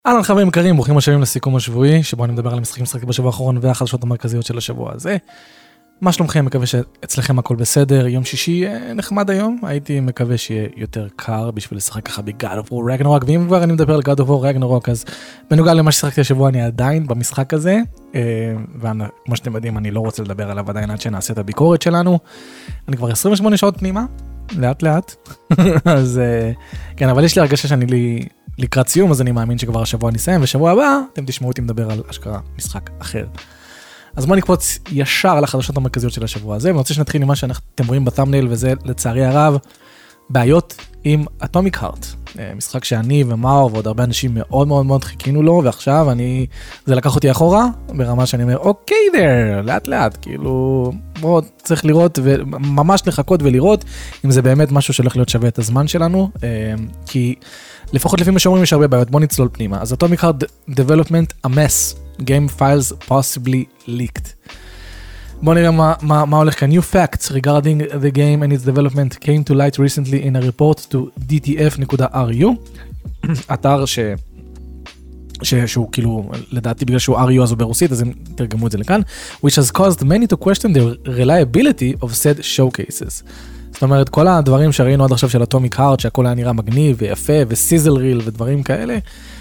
אהלן חברים יקרים, ברוכים השבים לסיכום השבועי, שבו אני מדבר על המשחקים ששחקתי בשבוע האחרון והחדשות המרכזיות של השבוע הזה. מה שלומכם? מקווה שאצלכם הכל בסדר. יום שישי נחמד היום, הייתי מקווה שיהיה יותר קר בשביל לשחק ככה ב-God of War Ragnarok, ואם כבר אני מדבר על God of War Ragnarok, אז בנוגע למה ששחקתי השבוע אני עדיין במשחק הזה, וכמו שאתם יודעים אני לא רוצה לדבר עליו עדיין עד שנעשה את הביקורת שלנו. אני כבר 28 שעות פנימה, לאט לאט, אז כן, אבל יש לי הרגשה שאני לקראת סיום, אז אני מאמין שכבר השבוע נסיים, ושבוע הבא אתם תשמעו אותי מדבר על אשכרה משחק אחר. אז בואו נקפוץ ישר על החדשות המרכזיות של השבוע הזה, ואני רוצה שנתחיל עם מה שאתם רואים בטאמנייל, וזה לצערי הרב, בעיות עם Atomic Heart. משחק שאני ומאור ועוד הרבה אנשים מאוד מאוד מאוד חיכינו לו, ועכשיו זה לקח אותי אחורה, ברמה שאני אומר, אוקיי there, לאט לאט, כאילו, בואו צריך לראות, וממש לחכות ולראות, אם זה באמת משהו שהולך להיות שווה את הזמן שלנו, כי לפחות לפי מה שאומרים יש הרבה בעיות, בואו נצלול פנימה. אז Atomic Heart Development a mess, game files possibly leaked. בואו נראה מה הולך כאן. New facts regarding the game and its development came to light recently in a report to dtf.ru, אתר שהוא כאילו, לדעתי בגלל שהוא RU אז הוא ברוסית, אז הם תרגמו את זה לכאן, which has caused many to question the reliability of said showcases. זאת אומרת, כל הדברים שראינו עד עכשיו של Atomic Heart, שהכל היה נראה מגניב ויפה, וסיזל ריל ודברים כאלה,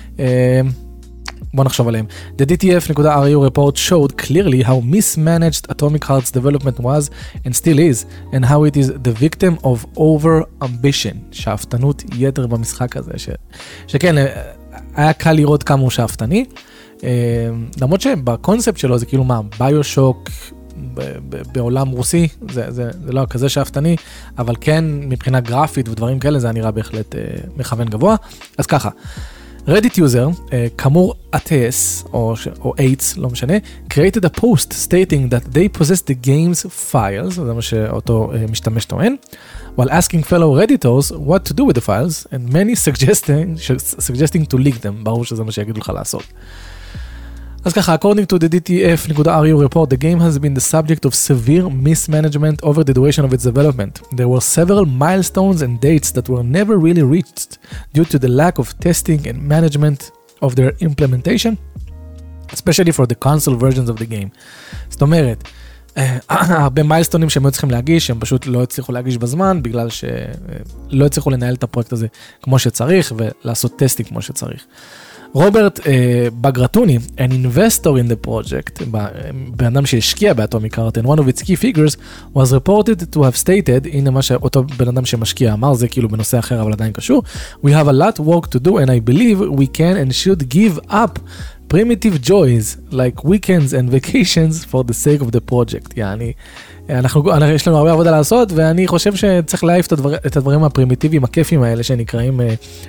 בוא נחשוב עליהם. The DTF.ru report showed clearly how mismanaged Atomic Heart's development was and still is, and how it is the victim of over-ambition, שאפתנות יתר במשחק הזה, שכן, היה קל לראות כמה הוא שאפתני, למרות שבקונספט שלו זה כאילו מה, ביושוק, בעולם רוסי, זה לא כזה שאפתני, אבל כן מבחינה גרפית ודברים כאלה, זה נראה בהחלט מכוון גבוה. אז ככה, Reddit user, כאמור אטס, או אייטס, לא משנה, created a post stating that they possess the game's files, זה מה שאותו משתמש טוען, while asking fellow Redditors what to do with the files, and many suggesting to leak them, ברור שזה מה שיגידו לך לעשות. אז ככה, according to the DTF.ru report, the game has been the subject of severe mismanagement over the duration of its development. There were several milestones and dates that were never really reached due to the lack of testing and management of their implementation, especially for the console versions of the game. זאת אומרת, הרבה מיילסטונים שהם היו צריכים להגיש, הם פשוט לא הצליחו להגיש בזמן, בגלל שלא הצליחו לנהל את הפרויקט הזה כמו שצריך, ולעשות טסטינג כמו שצריך. רוברט בגרטוני, an investor in the project, בן שהשקיע באטומיק הארט, and one of its key figures was reported to have stated, הנה מה שאותו בן אדם שמשקיע אמר, זה כאילו בנושא אחר אבל עדיין קשור, we have a lot work to do and I believe we can and should give up primitive joys like weekends and vacations for the sake of the project. יעני, יש לנו הרבה עבודה לעשות, ואני חושב שצריך להעיף את הדברים הפרימיטיביים, הכיפים האלה שנקראים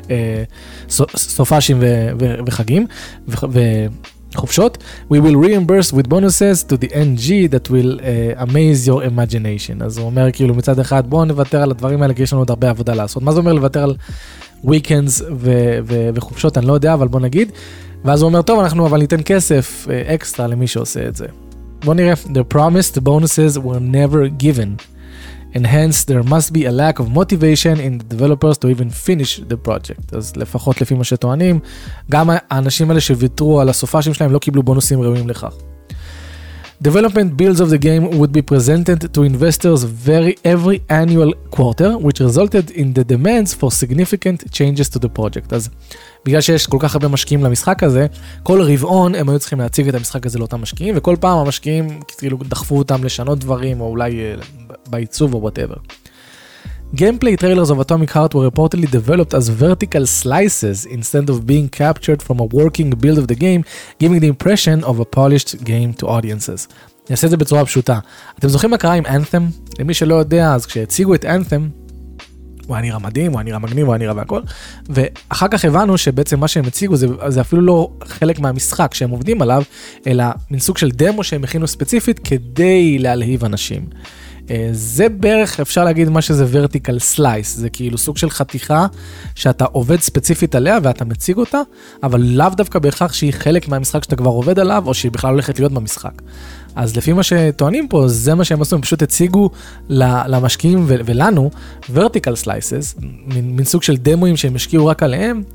סופשים וחגים וחופשות. We will reimburse with bonuses to the NG that will amaze your imagination. אז הוא אומר כאילו מצד אחד בואו נוותר על הדברים האלה כי יש לנו עוד הרבה עבודה לעשות. מה זה אומר לוותר על weekends וחופשות? אני לא יודע, אבל בוא נגיד. ואז הוא אומר טוב, אנחנו אבל ניתן כסף אקסטרה למי שעושה את זה. בוא נראה, the promised bonuses were never given, and hence there must be a lack of motivation in the developers to even finish the project. אז לפחות לפי מה שטוענים, גם האנשים האלה שוויתרו על הסופשים שלהם לא קיבלו בונוסים ראויים לכך. Development builds of the game would be presented to investors every annual quarter, which resulted in the demands for significant changes to the project. אז בגלל שיש כל כך הרבה משקיעים למשחק הזה, כל רבעון הם היו צריכים להציג את המשחק הזה לאותם משקיעים, וכל פעם המשקיעים כאילו דחפו אותם לשנות דברים, או אולי בעיצוב או whatever. Gameplay trailers of Atomic Heart were reportedly developed as vertical slices instead of being captured from a working build of the game, giving the impression of a polished game to audiences. אני אעשה את זה בצורה פשוטה. אתם זוכרים מה קרה עם Anthem? למי שלא יודע, אז כשהציגו את Anthem, הוא היה נראה מדהים, הוא היה נראה מגניב, הוא היה נראה והכל, ואחר כך הבנו שבעצם מה שהם הציגו זה אפילו לא חלק מהמשחק שהם עובדים עליו, אלא מין סוג של דמו שהם הכינו ספציפית כדי להלהיב אנשים. זה בערך אפשר להגיד מה שזה vertical slice, זה כאילו סוג של חתיכה שאתה עובד ספציפית עליה ואתה מציג אותה, אבל לאו דווקא בהכרח שהיא חלק מהמשחק שאתה כבר עובד עליו, או שהיא בכלל הולכת להיות במשחק. אז לפי מה שטוענים פה, זה מה שהם עשו, הם פשוט הציגו למשקיעים ולנו vertical slices, מין סוג של דמוים שהם השקיעו רק עליהם,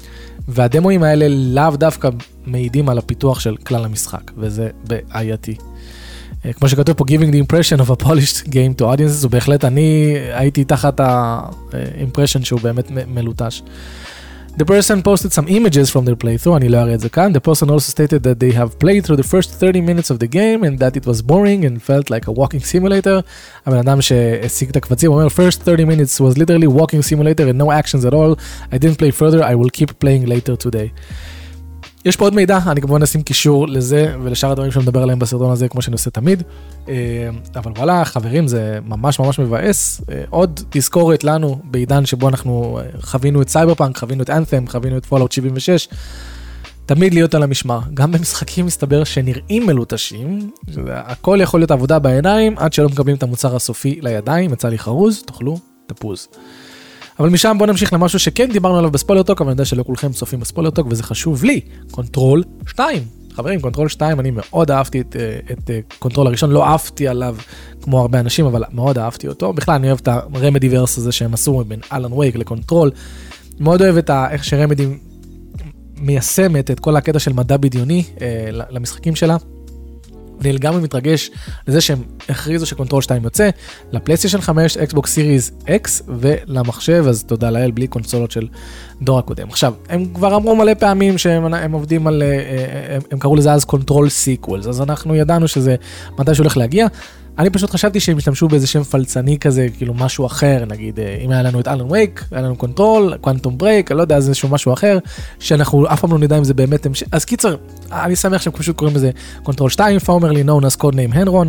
והדמוים האלה לאו דווקא מעידים על הפיתוח של כלל המשחק, וזה בעייתי. כמו שכתוב פה, giving the impression of a polished game to audiences, ובהחלט אני הייתי תחת ה-impression שהוא באמת מלוטש. The person posted some images from their playthrough, אני לא אראה את זה כאן. The person also stated that they have played through the first 30 minutes of the game and that it was boring and felt like a walking simulator. הבן אדם שהשיג את הקבצים אומר, first 30 minutes was literally walking simulator and no actions at all. I didn't play further, I will keep playing later today. יש פה עוד מידע, אני כמובן נשים קישור לזה ולשאר הדברים שמדבר עליהם בסרטון הזה, כמו שאני עושה תמיד. אבל וואלה, חברים, זה ממש ממש מבאס. עוד תזכורת לנו בעידן שבו אנחנו חווינו את סייברפאנק, חווינו את אנת'ם, חווינו את פולאאוט 76. תמיד להיות על המשמר. גם במשחקים מסתבר שנראים מלוטשים, הכל יכול להיות עבודה בעיניים, עד שלא מקבלים את המוצר הסופי לידיים, יצא לי חרוז, תאכלו תפוז. אבל משם בוא נמשיך למשהו שכן דיברנו עליו בספוילר-טוק, אבל אני יודע שלא כולכם צופים בספוילר-טוק, וזה חשוב לי, קונטרול 2. חברים, קונטרול 2, אני מאוד אהבתי את קונטרול הראשון, לא אהבתי עליו כמו הרבה אנשים, אבל מאוד אהבתי אותו. בכלל, אני אוהב את הרמדי-ורס הזה שהם עשו בין אלן וייק לקונטרול. מאוד אוהב את איך שרמדי מיישמת את כל הקטע של מדע בדיוני למשחקים שלה. אני לגמרי מתרגש לזה שהם הכריזו שקונטרול 2 יוצא, לפלייסטיישן 5, אקסבוקס סיריז X ולמחשב, אז תודה לאל, בלי קונסולות של דור הקודם. עכשיו, הם כבר אמרו מלא פעמים שהם עובדים על, הם קראו לזה אז קונטרול סיקוולס, אז אנחנו ידענו שזה מתי שהולך להגיע. אני פשוט חשבתי שהם השתמשו באיזה שם פלצני כזה, כאילו משהו אחר, נגיד, אם היה לנו את אלן וייק, היה לנו קונטרול, קוונטום ברייק, אני לא יודע, זה איזשהו משהו אחר, שאנחנו אף פעם לא נדע אם זה באמת המשך. אז קיצר, אני שמח שהם פשוט קוראים לזה קונטרול 2, formerly known as codename Henron,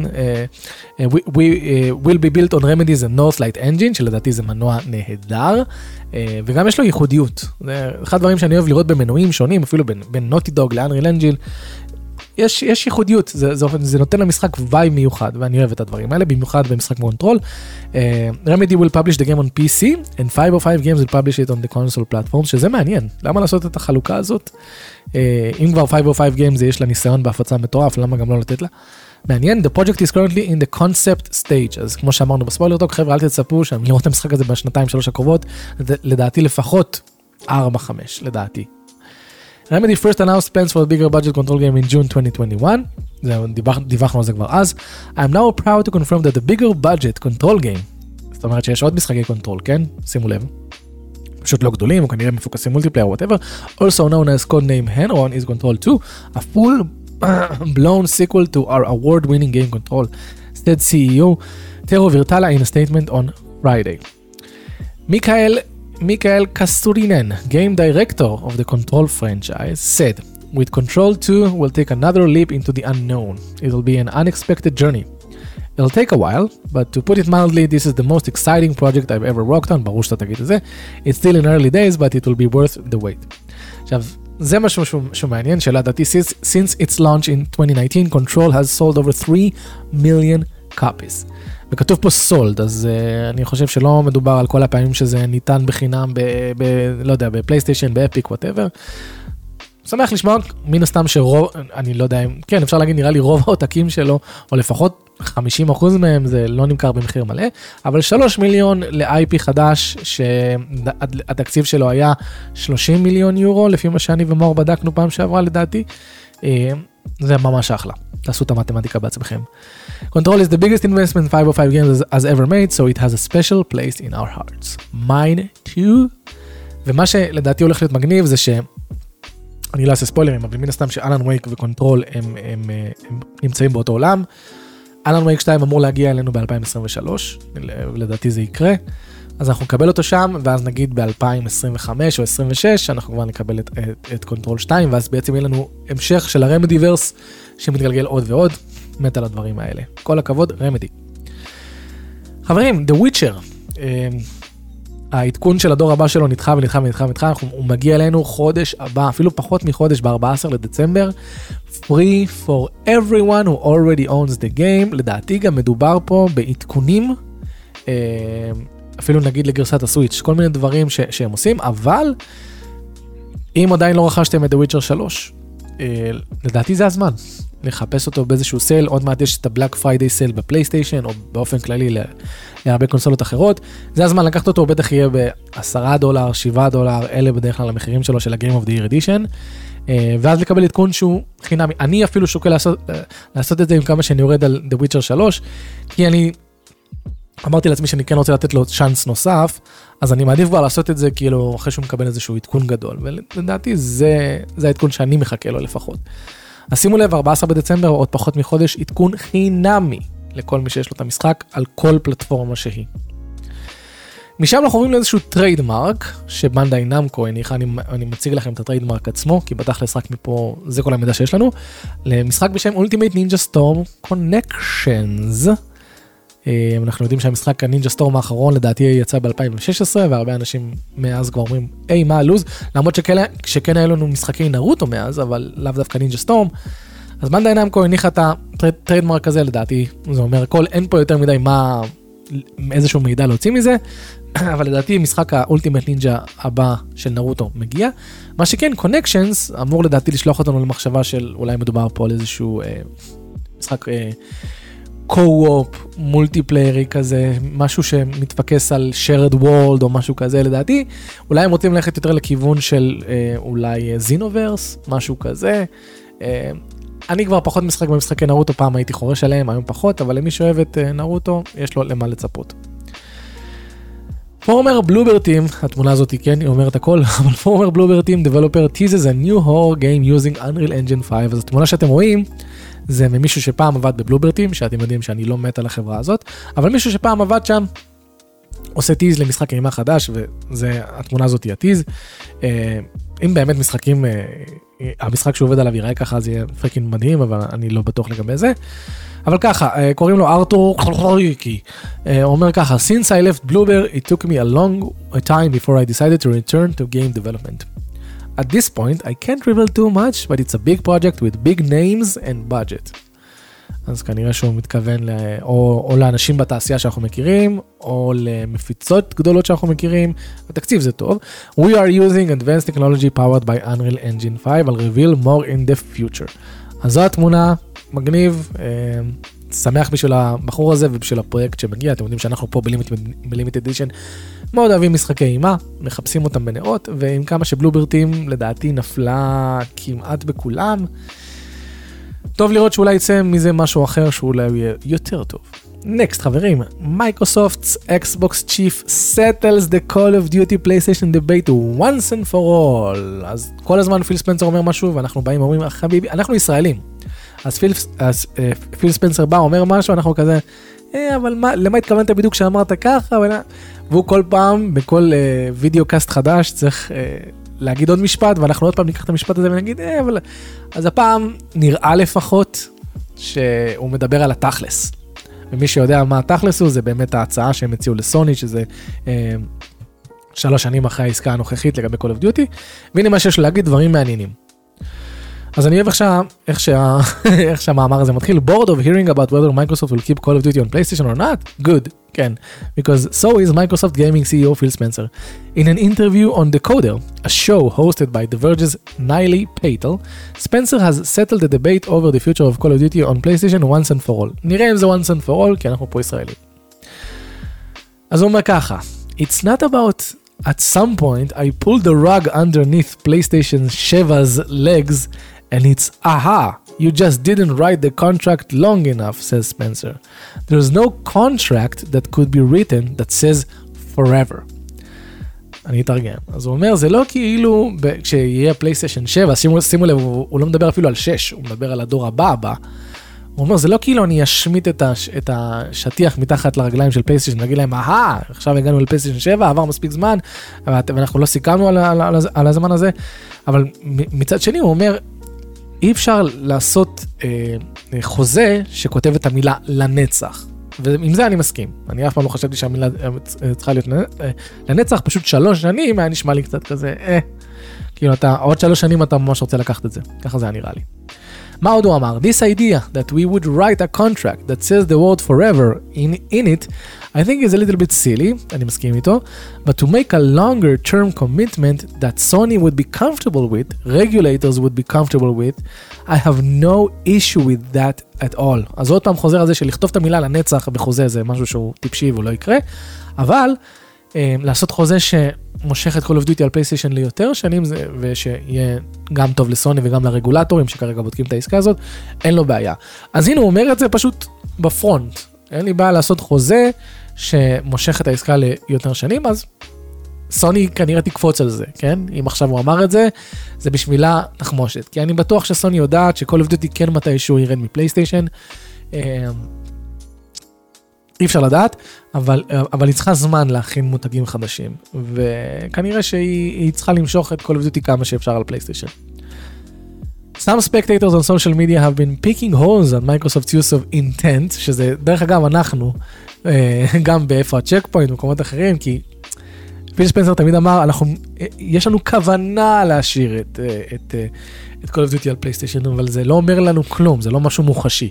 will be built on Remedy's Northlight Engine, שלדעתי זה מנוע נהדר, וגם יש לו ייחודיות. זה אחד הדברים שאני אוהב לראות במנועים שונים, אפילו בין Naughty Dog ל-Unreal Engine, יש ייחודיות, זה נותן למשחק וייב מיוחד, ואני אוהב את הדברים האלה, במיוחד במשחק קונטרול. Remedy will publish the game on PC, and 505 games will publish it on the console platform, שזה מעניין. למה לעשות את החלוקה הזאת? אם כבר 505 games יש לה ניסיון בהפצה מטורף, למה גם לא לתת לה? מעניין, the project is currently in the concept stage, אז כמו שאמרנו בספוילר-טוק, חבר'ה, אל תצפו שם לראות את המשחק הזה בשנתיים-שלוש הקרובות, לדעתי לפחות 4-5, לדעתי. Remedy first announced plans for a bigger budget control game in June 2021. דיווחנו על זה כבר אז. I'm now proud to confirm that the bigger budget control game, זאת אומרת שיש עוד משחקי קונטרול, כן? שימו לב. פשוט לא גדולים, או כנראה מפוקסים מולטיפלייר, whatever. Also known as codename Henron is Control 2, a full-blown sequel to our award-winning game Control, said CEO Tero Virtala in a statement on Friday. Mikael Kasturinen, game director of the Control franchise, said, with Control 2, we'll take another leap into the unknown. It'll be an unexpected journey. It'll take a while, but to put it mildly, this is the most exciting project I've ever worked on. ברור שאתה תגיד את זה. It's still in early days, but it will be worth the wait. עכשיו, זה משהו שמעניין, שלדעתי, since its launch in 2019, Control has sold over 3 million copies. וכתוב פה סולד, אז אני חושב שלא מדובר על כל הפעמים שזה ניתן בחינם לא יודע, בפלייסטיישן, באפיק, whatever. שמח לשמוע, מן הסתם שרוב, אני לא יודע, כן, אפשר להגיד, נראה לי רוב העותקים שלו, או לפחות 50% מהם, זה לא נמכר במחיר מלא, אבל 3 מיליון ל-IP חדש, שהתקציב שלו היה 30 מיליון יורו, לפי מה שאני ומור בדקנו פעם שעברה לדעתי, זה ממש אחלה. תעשו את המתמטיקה בעצמכם. Control is the biggest investment 505 games has ever made, so it has a special place in our hearts. Mine too. ומה שלדעתי הולך להיות מגניב זה ש... אני לא אעשה ספוילרים, אבל מן הסתם שאלן וייק וקונטרול הם נמצאים באותו עולם. אלן וייק 2 אמור להגיע אלינו ב-2023, ולדעתי זה יקרה. אז אנחנו נקבל אותו שם, ואז נגיד ב-2025 או 2026, אנחנו כבר נקבל את קונטרול 2, ואז בעצם יהיה לנו המשך של הרמדיברס, שמתגלגל עוד ועוד, מת על הדברים האלה. כל הכבוד, רמדי. חברים, The Witcher, העדכון של הדור הבא שלו נדחה, הוא מגיע אלינו חודש הבא, אפילו פחות מחודש, ב-14 לדצמבר, free for everyone who already owns the game, לדעתי גם מדובר פה בעדכונים, אפילו נגיד לגרסת הסוויץ', כל מיני דברים שהם עושים, אבל אם עדיין לא רכשתם את The Witcher 3, לדעתי זה הזמן. לחפש אותו באיזשהו סייל, עוד מעט יש את הבלק פריידיי סייל בפלייסטיישן, או באופן כללי להרבה קונסולות אחרות, זה הזמן לקחת אותו, בטח יהיה $10, $7, אלה בדרך כלל המחירים שלו של ה-Game of the Year Edition, ואז לקבל עדכון שהוא חינמי. אני אפילו שוקל לעשות את זה עם כמה שאני יורד על The Witcher 3, כי אני אמרתי לעצמי שאני כן רוצה לתת לו צ'אנס נוסף, אז אני מעדיף כבר לעשות את זה כאילו אחרי שהוא מקבל איזשהו עדכון גדול, ולדעתי זה העדכון שאני מחכה לו לפחות. אז שימו לב, 14 בדצמבר, עוד פחות מחודש, עדכון חינמי לכל מי שיש לו את המשחק, על כל פלטפורמה שהיא. משם אנחנו רואים לאיזשהו טריידמרק, שבנדאי נמקו הניחה, אני מציג לכם את הטריידמרק עצמו, כי בתכלס רק מפה, זה כל המידע שיש לנו, למשחק בשם Ultimate Ninja Storm Connections. אנחנו יודעים שהמשחק הנינג'ה סטורם האחרון לדעתי יצא ב-2016, והרבה אנשים מאז כבר אומרים, היי, מה הלוז? למרות שכן היה לנו משחקי נרוטו מאז, אבל לאו דווקא נינג'ה סטורם. אז בנדאי נמקו הניחה את הטריידמרק הזה, לדעתי, זה אומר, אין פה יותר מדי איזשהו מידע להוציא מזה, אבל לדעתי משחק האולטימט נינג'ה הבא של נרוטו מגיע. מה שכן, קונקשנס אמור לדעתי לשלוח אותנו למחשבה של אולי מדובר פה על איזשהו משחק קו-אופ, מולטיפליירי כזה, משהו שמתפקס על shared world או משהו כזה לדעתי. אולי הם רוצים ללכת יותר לכיוון של אולי זינוברס, משהו כזה. אני כבר פחות משחק במשחקי נרוטו, פעם הייתי חורש עליהם, היום פחות, אבל למי שאוהב את נרוטו, יש לו למה לצפות. פורמר בלובר טים, התמונה הזאת כן, היא אומרת הכל, אבל פורמר בלובר טים, developer teases a new horror game using Unreal Engine 5, אז התמונה שאתם רואים, זה ממישהו שפעם עבד בבלובר טים, שאתם יודעים שאני לא מת על החברה הזאת, אבל מישהו שפעם עבד שם, עושה טיז למשחק אימה חדש, והתמונה הזאת היא הטיז. אם באמת משחקים, המשחק שעובד עליו יראה ככה, זה יהיה פריקין מדהים, אבל אני לא בטוח לגבי זה. אבל ככה, קוראים לו ארתור חלחליקי, הוא אומר ככה, Since I left Bloober, it took me a long time before I decided to return to game development. At this point, I can't reveal too much, but it's a big project with big names and budget. אז כנראה שהוא מתכוון או לאנשים בתעשייה שאנחנו מכירים, או למפיצות גדולות שאנחנו מכירים. התקציב זה טוב. We are using advanced technology powered by Unreal Engine 5, I'll reveal more in the future. אז זו התמונה, מגניב, שמח בשביל הבחור הזה ובשביל הפרויקט שמגיע. אתם יודעים שאנחנו פה ב-Limited Edition מאוד אוהבים משחקי אימה, מחפשים אותם בנאות, ועם כמה שבלובר טים לדעתי נפלה כמעט בכולם. טוב לראות שאולי יצא מזה משהו אחר שאולי יהיה יותר טוב. Next, חברים, Microsoft's Xbox Chief settles the Call of Duty PlayStation debate once and for all. אז כל הזמן פיל ספנסר אומר משהו, ואנחנו באים ואומרים, חביבי, אנחנו ישראלים. אז פיל ספנסר בא, אומר משהו, אנחנו כזה, אבל למה התכוונת בדיוק שאמרת ככה? והוא כל פעם, בכל וידאו קאסט חדש, צריך להגיד עוד משפט, ואנחנו עוד פעם ניקח את המשפט הזה ונגיד, אבל... אז הפעם נראה לפחות שהוא מדבר על התכלס. ומי שיודע מה התכלס הוא, זה באמת ההצעה שהם הציעו לסוני, שזה 3 שנים אחרי העסקה הנוכחית לגבי Call of Duty, והנה מה שיש להגיד, דברים מעניינים. אז אני אוהב איך שהמאמר הזה מתחיל, bored of hearing about whether Microsoft will keep Call of Duty on PlayStation or not? Good, כן. Because so is Microsoft Gaming CEO Phil Spencer. In an interview on Decoder, a show hosted by The Verge's Niley Patel, Spencer has settled the debate over the future of Call of Duty on PlayStation once and for all. נראה אם זה once and for all, כי אנחנו פה ישראלים. אז הוא אומר ככה, It's not about... At some point, I pulled the rug underneath PlayStation 7's legs, and it's, aha, you just didn't write the contract long enough, says Spencer. There's no contract that could be written that says forever. אני אתרגם. אז הוא אומר, זה לא כאילו, כשיהיה PlayStation 7, שימו לב, הוא לא מדבר אפילו על 6, הוא מדבר על הדור הבא. הוא אומר, זה לא כאילו אני אשמיט את השטיח מתחת לרגליים של פלייסטיישן, נגיד להם, עכשיו הגענו לפלייסטיישן 7, עבר מספיק זמן, ואנחנו לא סיכמנו על הזמן הזה, אבל מצד שני הוא אומר, אי אפשר לעשות חוזה שכותב את המילה לנצח, ועם זה אני מסכים. אני אף פעם לא חשבתי שהמילה צריכה להיות לנצח, פשוט 3 שנים היה נשמע לי קצת כזה, כאילו עוד 3 שנים אתה ממש רוצה לקחת את זה, ככה זה היה נראה לי. מה עוד הוא אמר? This idea that we would write a contract that says the word forever in it, I think is a little bit silly, אני מסכים איתו, but to make a longer term commitment that Sony would be comfortable with, regulators would be comfortable with, I have no issue with that at all. אז עוד פעם חוזר על זה שלכתוב את המילה לנצח בחוזה זה משהו שהוא טיפשי והוא לא יקרה, אבל לעשות חוזה שמושך את Call of Duty על פלייסטיישן ליותר שנים, ושיהיה גם טוב לסוני וגם לרגולטורים שכרגע בודקים את העסקה הזאת, אין לו בעיה. אז הנה הוא אומר את זה פשוט בפרונט, אין לי בעיה לעשות חוזה שמושך את העסקה ליותר שנים, אז סוני כנראה תקפוץ על זה, כן? אם עכשיו הוא אמר את זה, זה בשבילה תחמושת, כי אני בטוח שסוני יודעת ש-Call of Duty כן מתישהו ירד מפלייסטיישן, אי אפשר לדעת, אבל היא צריכה זמן להכין מותגים חדשים, וכנראה שהיא צריכה למשוך את Call of Duty כמה שאפשר על פלייסטיישן. Some spectators on social media have been picking holes on Microsoft's use of intent, שזה דרך אגב אנחנו, גם באיפה הצ'ק פוינט ומקומות אחרים, כי פיל ספנסר תמיד אמר, יש לנו כוונה להשאיר את Call of Duty על פלייסטיישן, אבל זה לא אומר לנו כלום, זה לא משהו מוחשי.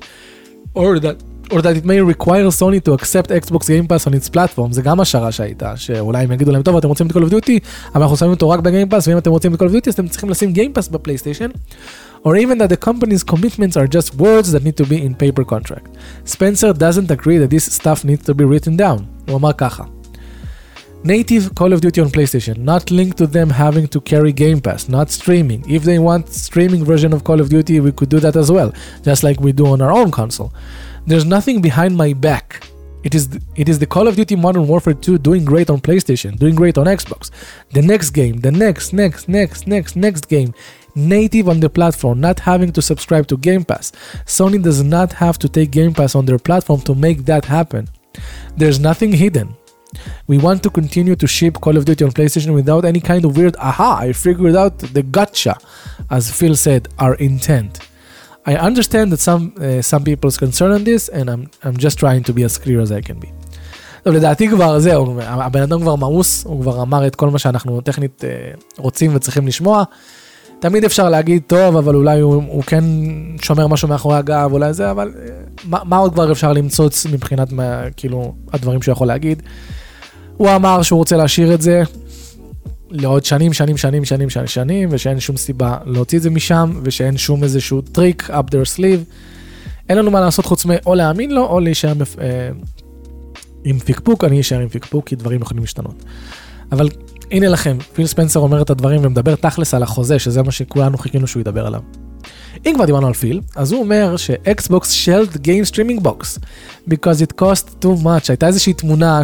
Or that it may require Sony to accept Xbox Game Pass on its platform, זה גם השערה שהייתה, שאולי הם יגידו להם, טוב, אתם רוצים את Call of Duty, אבל אנחנו שמים אותו רק ב-Game Pass, ואם אתם רוצים את Call of Duty, אז אתם צריכים לשים Game Pass בפלייסטיישן, or even that the company's commitments are just words that need to be in paper contract. Spencer doesn't agree that this stuff needs to be written down. הוא אמר ככה, Native Call of Duty on PlayStation, not linked to them having to carry Game Pass, not streaming. If they want streaming version of Call of Duty, we could do that as well, just like we do on our own console. There's nothing behind my back. It is the Call of Duty Modern Warfare 2 doing great on PlayStation, doing great on Xbox. The next game, the next game, native on the platform, not having to subscribe to Game Pass. Sony does not have to take Game Pass on their platform to make that happen. There's nothing hidden. We want to continue to ship Call of Duty on PlayStation without any kind of weird, I figured out the gotcha, as Phil said, our intent. I understand that some people's concerned on this, and I'm just trying to be as clear as I can be. טוב, לדעתי כבר זהו, הבן אדם כבר מאוס, הוא כבר אמר את כל מה שאנחנו טכנית רוצים וצריכים לשמוע. תמיד אפשר להגיד, טוב, אבל אולי הוא כן שומר משהו מאחורי הגב, אולי זה, אבל מה עוד כבר אפשר למצוץ מבחינת כאילו הדברים שהוא יכול להגיד? הוא אמר שהוא רוצה להשאיר את זה לעוד שנים, ושאין שום סיבה להוציא את זה משם, ושאין שום איזשהו טריק up their sleeve. אין לנו מה לעשות חוץ או להאמין לו, או להישאר עם פיקפוק. אני אשאר עם פיקפוק, כי דברים יכולים להשתנות. אבל הנה לכם, פיל ספנסר אומר את הדברים ומדבר תכלס על החוזה, שזה מה שכולנו חיכינו שהוא ידבר עליו. אם כבר דיברנו על פיל, אז הוא אומר ש-Xbox shelved game streaming box, because it cost too much. הייתה איזושהי תמונה,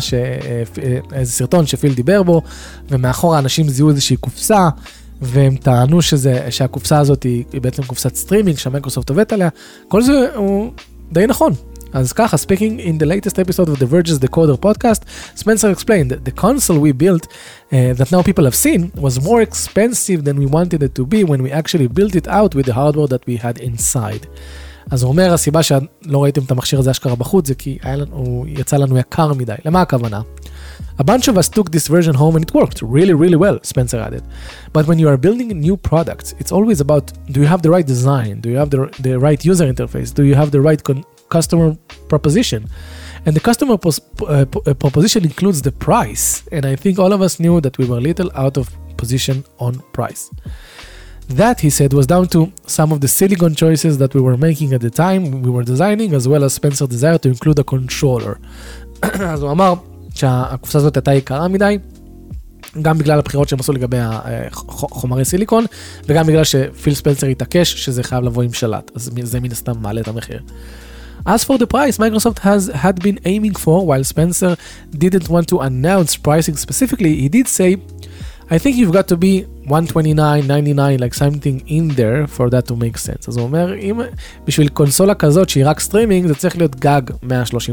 איזה סרטון שפיל דיבר בו, ומאחור האנשים זיהו איזושהי קופסה, והם טענו שהקופסה הזאת היא בעצם קופסת סטרימינג, שהמייקרוסופט עובדת עליה. כל זה הוא די נכון. אז ככה, speaking in the latest episode of the Verge's Decoder podcast, Spencer explained that the console we built, that now people have seen, was more expensive than we wanted it to be when we actually built it out with the hardware that we had inside. אז הוא אומר, הסיבה שלא ראיתם את המכשיר הזה אשכרה בחוץ, זה כי הוא יצא לנו יקר מדי. למה הכוונה? A bunch of us took this version home and it worked really, really well, Spencer added. But when you are building new products, it's always about, do you have the right design? Do you have the right user interface? Do you have the right customer proposition? And the customer proposition includes the price. And I think all of us knew that we were a little out of position on price. That, he said, was down to some of the silicon choices that we were making at the time we were designing, as well as Spencer's desire to include a controller. אז הוא אמר שהקופסה הזאת הייתה יקרה מדי, גם בגלל הבחירות שהם עשו לגבי חומרי סיליקון, וגם בגלל שפיל ספנסר התעקש שזה חייב לבוא עם שלט, אז זה מן הסתם מעלה את המחיר. As for the price, Microsoft had been aiming for, while Spencer didn't want to announce pricing specifically, he did say, I think you've got to be $129.99, like something in there for that to make sense. אז הוא אומר, אם בשביל קונסולה כזאת שהיא רק סטרימינג, זה צריך להיות גג $130,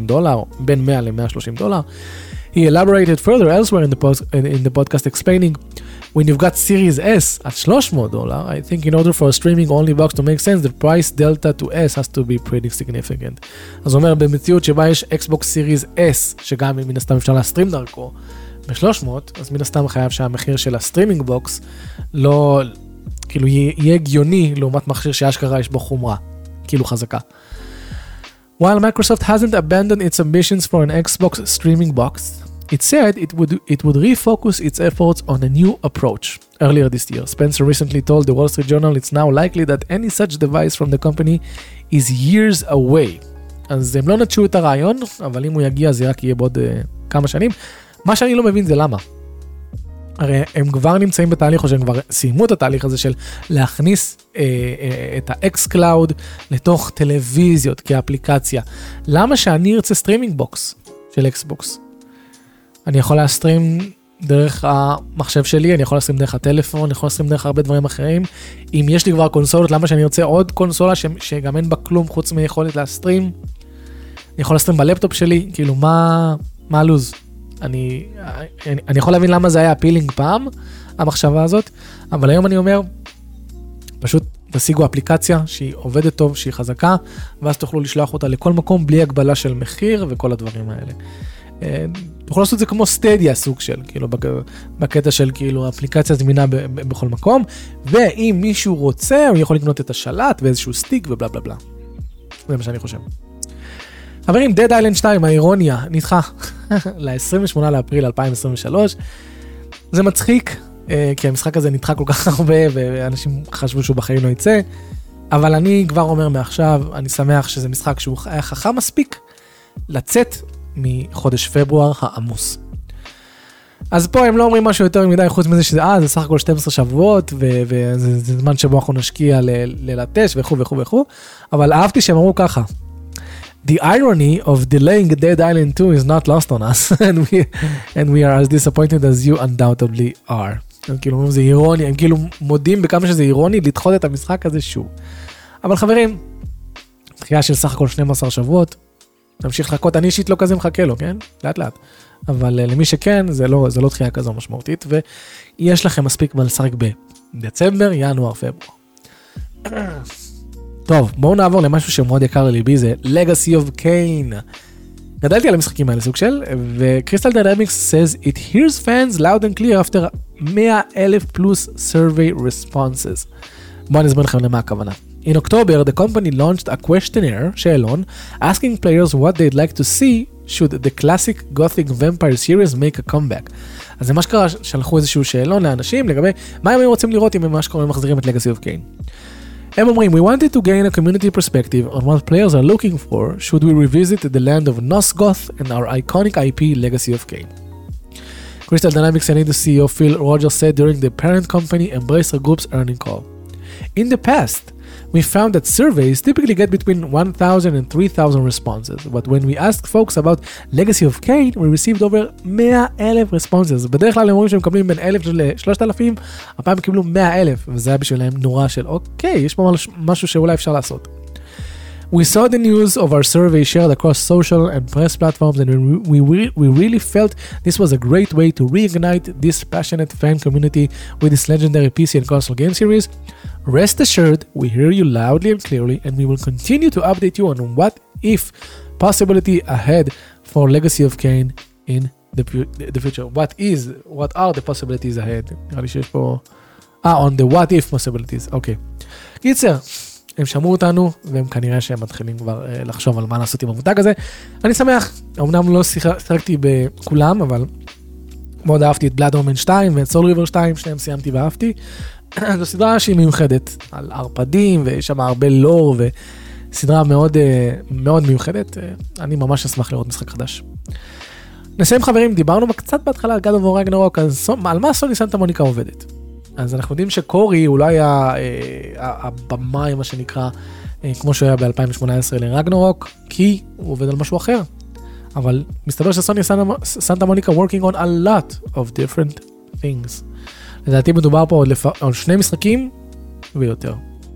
בין $100 ל-$130. He elaborated further elsewhere in the podcast explaining, when you've got Series S at $300, I think in order for a streaming-only box to make sense, the price delta to S has to be pretty significant. אז הוא אומר, במציאות שבה יש Xbox Series S, שגם מן הסתם אפשר להסטרים דרכו, ב-300, אז מן הסתם חייב שהמחיר של הסטרימינג בוקס לא, כאילו יהיה הגיוני לעומת מכשיר שאשכרה יש בו חומרה. כאילו חזקה. While Microsoft hasn't abandoned its ambitions for an Xbox streaming box, it said it would refocus its efforts on a new approach. Earlier this year, Spencer recently told the Wall Street Journal it's now likely that any such device from the company is years away. אז הם לא נטשו את הרעיון, אבל אם הוא יגיע זה רק יהיה בעוד כמה שנים. מה שאני לא מבין זה למה. הרי הם כבר נמצאים בתהליך, או שהם כבר סיימו את התהליך הזה של להכניס את ה-X-Cloud לתוך טלוויזיות כאפליקציה. למה שאני ארצה סטרימינג בוקס של Xbox? אני יכול להסטרים דרך המחשב שלי, אני יכול להסטרים דרך הטלפון, אני יכול להסטרים דרך הרבה דברים אחרים. אם יש לי כבר קונסולות, למה שאני ארצה עוד קונסולה שגם אין בה כלום חוץ מיכולת להסטרים? אני יכול להסטרים בלפטופ שלי, כאילו מה הלוז? אני יכול להבין למה זה היה הפילינג פעם, המחשבה הזאת, אבל היום אני אומר, פשוט תשיגו אפליקציה שהיא עובדת טוב, שהיא חזקה, ואז תוכלו לשלוח אותה לכל מקום בלי הגבלה של מחיר וכל הדברים האלה. תוכלו לעשות את זה כמו סטדיה סוג של, כאילו בקטע של כאילו אפליקציה זמינה בכל מקום, ואם מישהו רוצה, הוא יכול לקנות את השלט ואיזשהו סטיק ובלה בלה בלה. זה מה שאני חושב. חברים, Dead Island 2, האירוניה, נדחה ל-28 לאפריל 2023. זה מצחיק, כי המשחק הזה נדחה כל כך הרבה, ואנשים חשבו שהוא בחיים לא יצא, אבל אני כבר אומר מעכשיו, אני שמח שזה משחק שהוא היה חכם מספיק, לצאת מחודש פברואר העמוס. אז פה הם לא אומרים משהו יותר מדי, חוץ מזה שזה, זה סך הכל 12 שבועות, וזה זמן שבו אנחנו נשקיע ללטש וכו' וכו' וכו', אבל אהבתי שהם אמרו ככה, The irony of delaying Dead Island 2 is not lost on us, and we are as disappointed as you undoubtedly are. הם כאילו אומרים, זה אירוני, הם כאילו מודים בכמה שזה אירוני, לדחות את המשחק הזה שוב. אבל חברים, דחייה של סך הכל 12 שבועות, נמשיך לחכות, אני אישית לא כזה מחכה לו, כן? לאט לאט. אבל למי שכן, זה לא דחייה כזו משמעותית, ויש לכם מספיק מה לשחק בדצמבר, ינואר, פברואר. טוב, בואו נעבור למשהו שמאוד יקר לליבי, זה Legacy of Kain. גדלתי על המשחקים האלה סוג של, ו-Crystal Dynamics says it hears fans loud and clear after 100,000 plus survey responses. בואו נסביר לכם למה הכוונה. In October, the company launched a questionnaire, שאלון, asking players what they'd like to see should the classic Gothic vampire series make a comeback. אז זה מה שקרה, שלחו איזשהו שאלון לאנשים לגבי מה הם רוצים לראות אם הם מה שקורה מחזירים את Legacy of Kain. הם אומרים, we wanted to gain a community perspective on what players are looking for should we revisit the land of Nosgoth and our iconic IP Legacy of Kain. Crystal Dynamics and CEO Phil Rogers said during the parent company Embracer Group's earnings call. In the past, we found that surveys typically get between 1,000 and 3,000 responses, but when we asked folks about Legacy of Kain, we received over 100,000 responses. בדרך כלל הם אומרים שהם מקבלים בין 1,000 ל-3,000, הפעם הם קיבלו 100,000, וזה היה בשבילהם נורא של, אוקיי, יש פה משהו שאולי אפשר לעשות. We saw the news of our survey shared across social and press platforms, and we really felt this was a great way to reignite this passionate fan community with this legendary PC and console game series. Rest assured, we hear you loudly and clearly, and we will continue to update you on what if possibility ahead for Legacy of Kain in the future. What are the possibilities ahead? נראה לי שיש פה... on the what if possibilities, אוקיי. קיצר, הם שמעו אותנו, והם כנראה שהם מתחילים כבר לחשוב על מה לעשות עם המותג הזה. אני שמח, אמנם לא שיחקתי בכולם, אבל מאוד אהבתי את Blood Omen 2 ואת Soul River 2, שניהם סיימתי ואהבתי. זו סדרה שהיא מיוחדת, על ערפדים, ויש שם הרבה לור, וסדרה מאוד, מאוד מיוחדת. אני ממש אשמח לראות משחק חדש. נסיים חברים, דיברנו קצת בהתחלה על God of War Ragnarok, אז על מה סוני סנטה מוניקה עובדת? אז אנחנו יודעים שקורי הוא לא היה הבמאי, מה שנקרא, כמו שהוא היה ב-2018 לרגנרוק, כי הוא עובד על משהו אחר. אבל מסתבר שסוני סנטה מוניקה working on a lot of different things. לדעתי מדובר פה על 2 משחקים ויותר.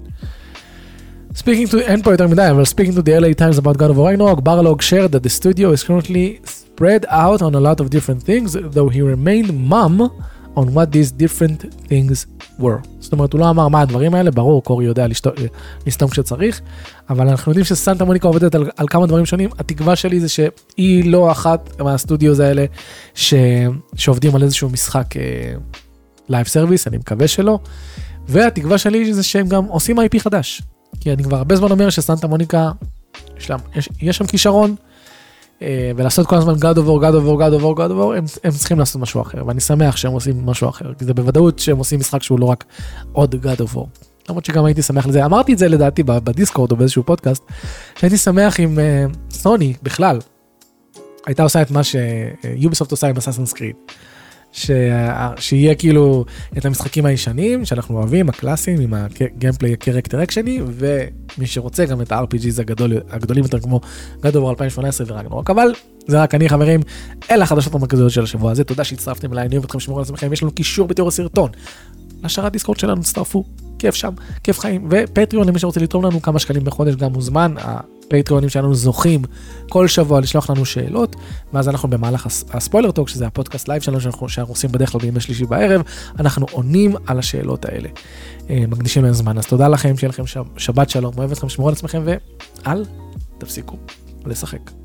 אין פה יותר מדי, אבל speaking to the LA Times about God of War Ragnarok, Barlog shared that the studio is currently spread out on a lot of different things, though he remained mum on what these different things were. זאת אומרת, הוא לא אמר מה הדברים האלה, ברור, קורי יודע לסתום כשצריך, אבל אנחנו יודעים שסנטה מוניקה עובדת על כמה דברים שונים. התקווה שלי זה שהיא לא אחת מהסטודיוס האלה שעובדים על איזשהו משחק לייב סרוויס, אני מקווה שלא, והתקווה שלי זה שהם גם עושים IP חדש, כי אני כבר הרבה זמן אומר שסנטה מוניקה, יש שם כישרון, ולעשות כל הזמן God of War, הם צריכים לעשות משהו אחר, ואני שמח שהם עושים משהו אחר, כי זה בוודאות שהם עושים משחק שהוא לא רק עוד God of War. למרות שגם הייתי שמח לזה, אמרתי את זה לדעתי בדיסקורד או באיזשהו פודקאסט, שהייתי שמח עם סוני בכלל, הייתה עושה את מה שיוביסופט עושה עם Assassin's Creed, שיהיה כאילו את המשחקים הישנים שאנחנו אוהבים, הקלאסיים, עם הגיימפליי הקרקטר אקשני, ומי שרוצה גם את ה-RPGs הגדולים יותר כמו God of War 2018 ורגנרוק. אבל זה רק אני, חברים, אלה החדשות המרכזיות של השבוע הזה. תודה שהצטרפתם אליי, אני אוהב אתכם, שמרו על עצמכם, יש לנו קישור בתיאור הסרטון לשרת דיסקורד שלנו, תצטרפו, כיף שם, כיף חיים, ופטריון למי שרוצה לתרום לנו כמה שקלים בחודש גם מוזמן, הפטריונים שלנו זוכים כל שבוע לשלוח לנו שאלות, ואז אנחנו במהלך הספוילר טוק, שזה הפודקאסט לייב שלנו שאנחנו עושים בדרך כלל בימי שלישי בערב, אנחנו עונים על השאלות האלה, מקדישים להם זמן, אז תודה לכם, שיהיה לכם שבת שלום, אוהב אתכם, שמרו על עצמכם, ואל תפסיקו לשחק.